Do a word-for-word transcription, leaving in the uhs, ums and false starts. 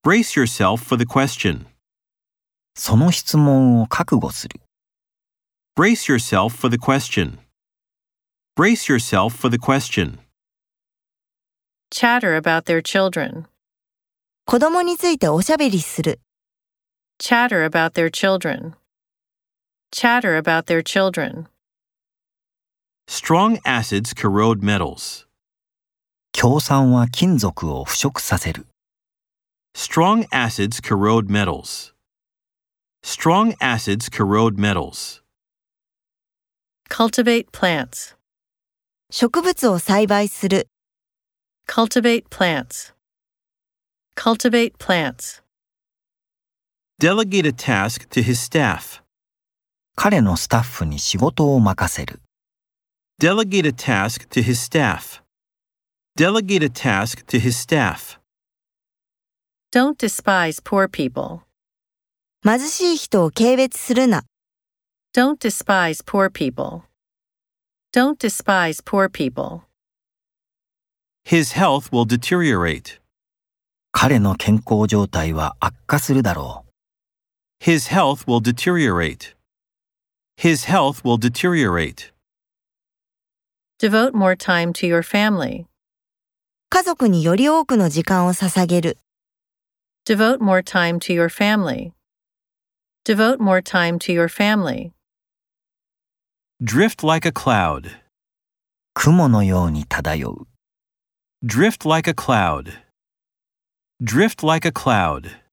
Brace yourself for the question. その質問を覚悟する。 Brace yourself for the question. Brace yourself for the question. Chatter about their children. 子供についておしゃべりする。 Chatter about their children. Chatter about their children. Strong acids corrode metals. 強酸は金属を腐食させる。 Strong acids corrode metals. Strong acids corrode metals. Cultivate plants. 植物を栽培する。 Cultivate plants. Cultivate plants. Delegate a task to his staff. 彼のスタッフに仕事を任せる。 Delegate a task to his staff. Delegate a task to his staff. Don't despise poor people. 貧しい人を軽蔑するな。 Don't despise poor people. Don't despise poor people. His health will deteriorate. 彼の健康状態は悪化するだろう。 His health will deteriorate. His health will deteriorate. Devote more time to your family. 家族により多くの時間を捧げる。 Devote more time to your family. Devote more time to your family. Drift like a cloud. 雲のように漂う。 Drift like a cloud. Drift like a cloud.